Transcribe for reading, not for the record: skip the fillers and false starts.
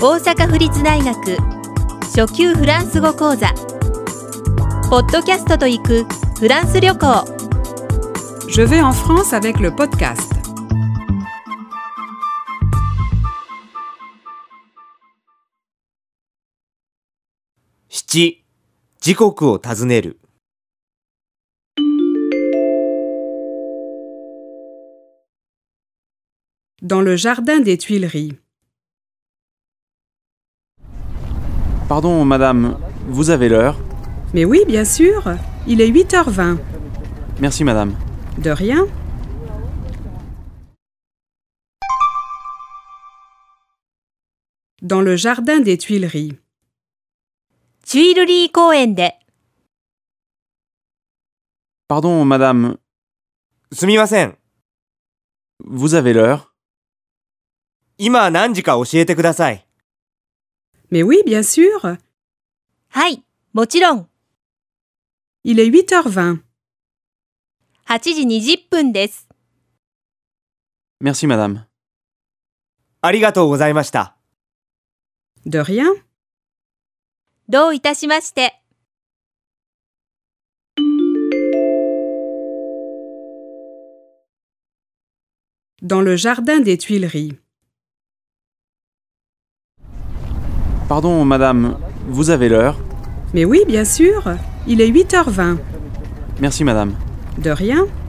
大阪府立大学初級フランス語講座ポッドキャストと行くフランス旅行 Je vais en France avec le podcast. 7. 時刻を尋ねる。 Dans le jardin des Tuileries. Pardon, madame, vous avez l'heure? Mais oui, bien sûr. Il est 8h20. Merci, madame. De rien. Dans le jardin des Tuileries. チュイルリー公園で Pardon, madame, すみません。 vous avez l'heure? 今何時か教えてください。 Mais oui, bien sûr. はい、もちろん Il est 8h20. 8時20分です。 Merci, madame. ありがとうございました。 De rien. どういたしまして。 Dans le jardin des Tuileries. Pardon, madame, vous avez l'heure? Mais oui, bien sûr. Il est 8h20. Merci, madame. De rien.